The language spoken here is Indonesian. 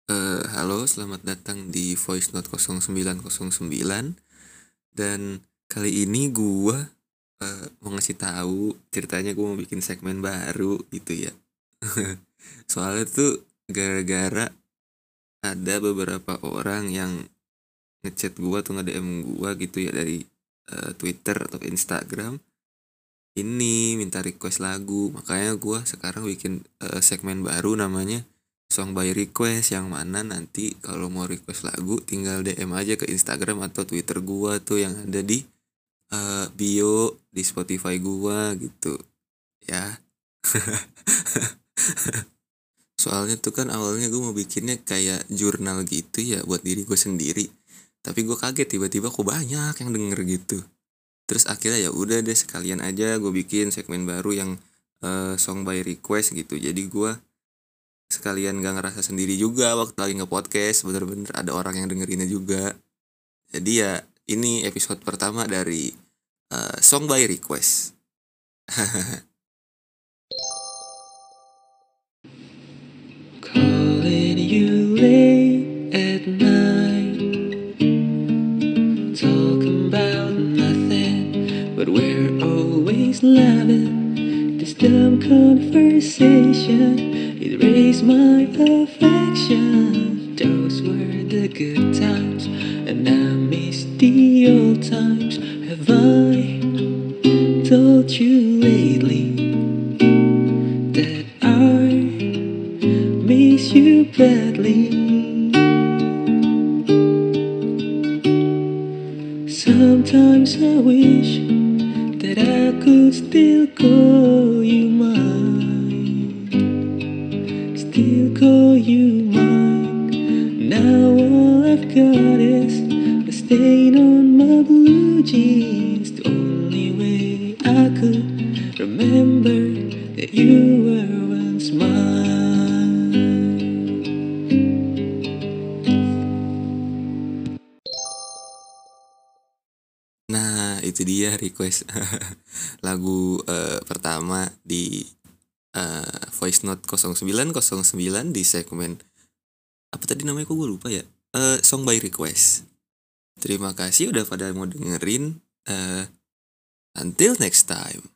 Halo, selamat datang di Voice Note 0909. Dan kali ini gua mau ngasih tahu ceritanya gua mau bikin segmen baru gitu ya. Soalnya tuh gara-gara ada beberapa orang yang ngechat gua tuh nge-DM gua gitu ya dari Twitter atau Instagram. Ini minta request lagu, makanya gua sekarang bikin segmen baru namanya Song by Request, yang mana nanti kalau mau request lagu tinggal DM aja ke Instagram atau Twitter gua tuh yang ada di bio di Spotify gua gitu ya. Soalnya tuh kan awalnya gue mau bikinnya kayak jurnal gitu ya buat diri gue sendiri. Tapi gue kaget tiba-tiba kok banyak yang denger gitu. Terus akhirnya ya udah deh sekalian aja gue bikin segmen baru yang song by request gitu. Jadi gue sekalian gak ngerasa sendiri juga waktu lagi nge-podcast, bener-bener ada orang yang dengerinnya juga. Jadi ya ini episode pertama dari song by request. Calling you late at night, talking about nothing, but we're always laughing. This dumb conversation, it raised my affection. Those were the good times, and I miss the old times. Have I told you lately that I miss you badly? Sometimes I wish that I could still call you mine, still call you mine. Now all I've got is a stain on my blue jeans. The only way I could remember that you were once mine. Nah itu dia request lagu pertama di Voice Note 0909 di segmen apa tadi namanya, kok gue lupa ya, song by request. Terima kasih udah pada mau dengerin. Until next time.